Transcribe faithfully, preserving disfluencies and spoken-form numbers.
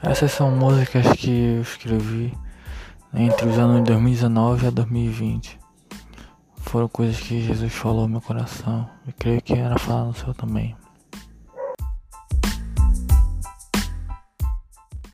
Essas são músicas que eu escrevi entre os anos de dois mil e dezenove a dois mil e vinte. Foram coisas que Jesus falou no meu coração. Eu creio que era falar no seu também.